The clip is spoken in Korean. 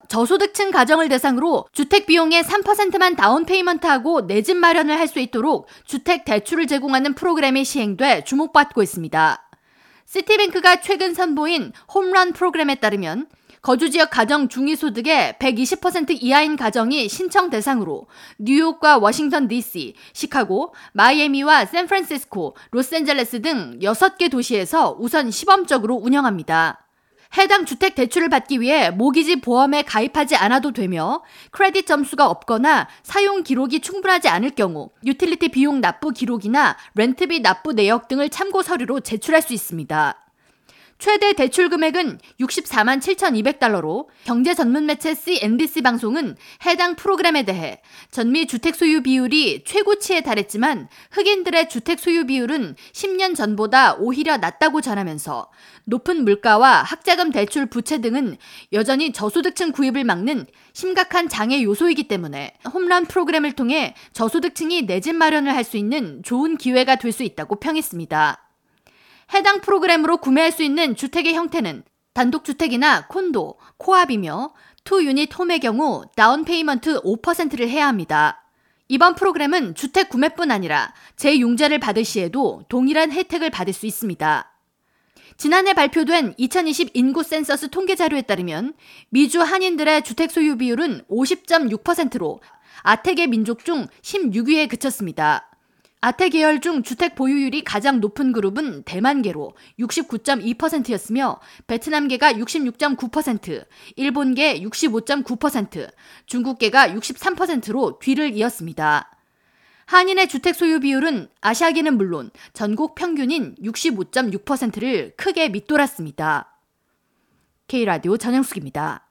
저소득층 가정을 대상으로 주택 비용의 3%만 다운 페이먼트하고 내 집 마련을 할 수 있도록 주택 대출을 제공하는 프로그램이 시행돼 주목받고 있습니다. 시티뱅크가 최근 선보인 홈런 프로그램에 따르면 거주지역 가정 중위소득의 120% 이하인 가정이 신청 대상으로 뉴욕과 워싱턴 DC, 시카고, 마이애미와 샌프란시스코, 로스앤젤레스 등 6개 도시에서 우선 시범적으로 운영합니다. 해당 주택 대출을 받기 위해 모기지 보험에 가입하지 않아도 되며 크레딧 점수가 없거나 사용 기록이 충분하지 않을 경우 유틸리티 비용 납부 기록이나 렌트비 납부 내역 등을 참고 서류로 제출할 수 있습니다. 최대 대출 금액은 64만 7,200달러로 경제 전문 매체 CNBC 방송은 해당 프로그램에 대해 전미 주택 소유 비율이 최고치에 달했지만 흑인들의 주택 소유 비율은 10년 전보다 오히려 낮다고 전하면서 높은 물가와 학자금 대출 부채 등은 여전히 저소득층 구입을 막는 심각한 장애 요소이기 때문에 홈런 프로그램을 통해 저소득층이 내 집 마련을 할 수 있는 좋은 기회가 될 수 있다고 평했습니다. 해당 프로그램으로 구매할 수 있는 주택의 형태는 단독주택이나 콘도, 코압이며 2유닛 홈의 경우 다운 페이먼트 5%를 해야 합니다. 이번 프로그램은 주택 구매뿐 아니라 재융자를 받을 시에도 동일한 혜택을 받을 수 있습니다. 지난해 발표된 2020 인구 센서스 통계 자료에 따르면 미주 한인들의 주택 소유 비율은 50.6%로 아태계 민족 중 16위에 그쳤습니다. 아태 계열 중 주택 보유율이 가장 높은 그룹은 대만계로 69.2%였으며 베트남계가 66.9%, 일본계 65.9%, 중국계가 63%로 뒤를 이었습니다. 한인의 주택 소유 비율은 아시아계는 물론 전국 평균인 65.6%를 크게 밑돌았습니다. K라디오 전영숙입니다.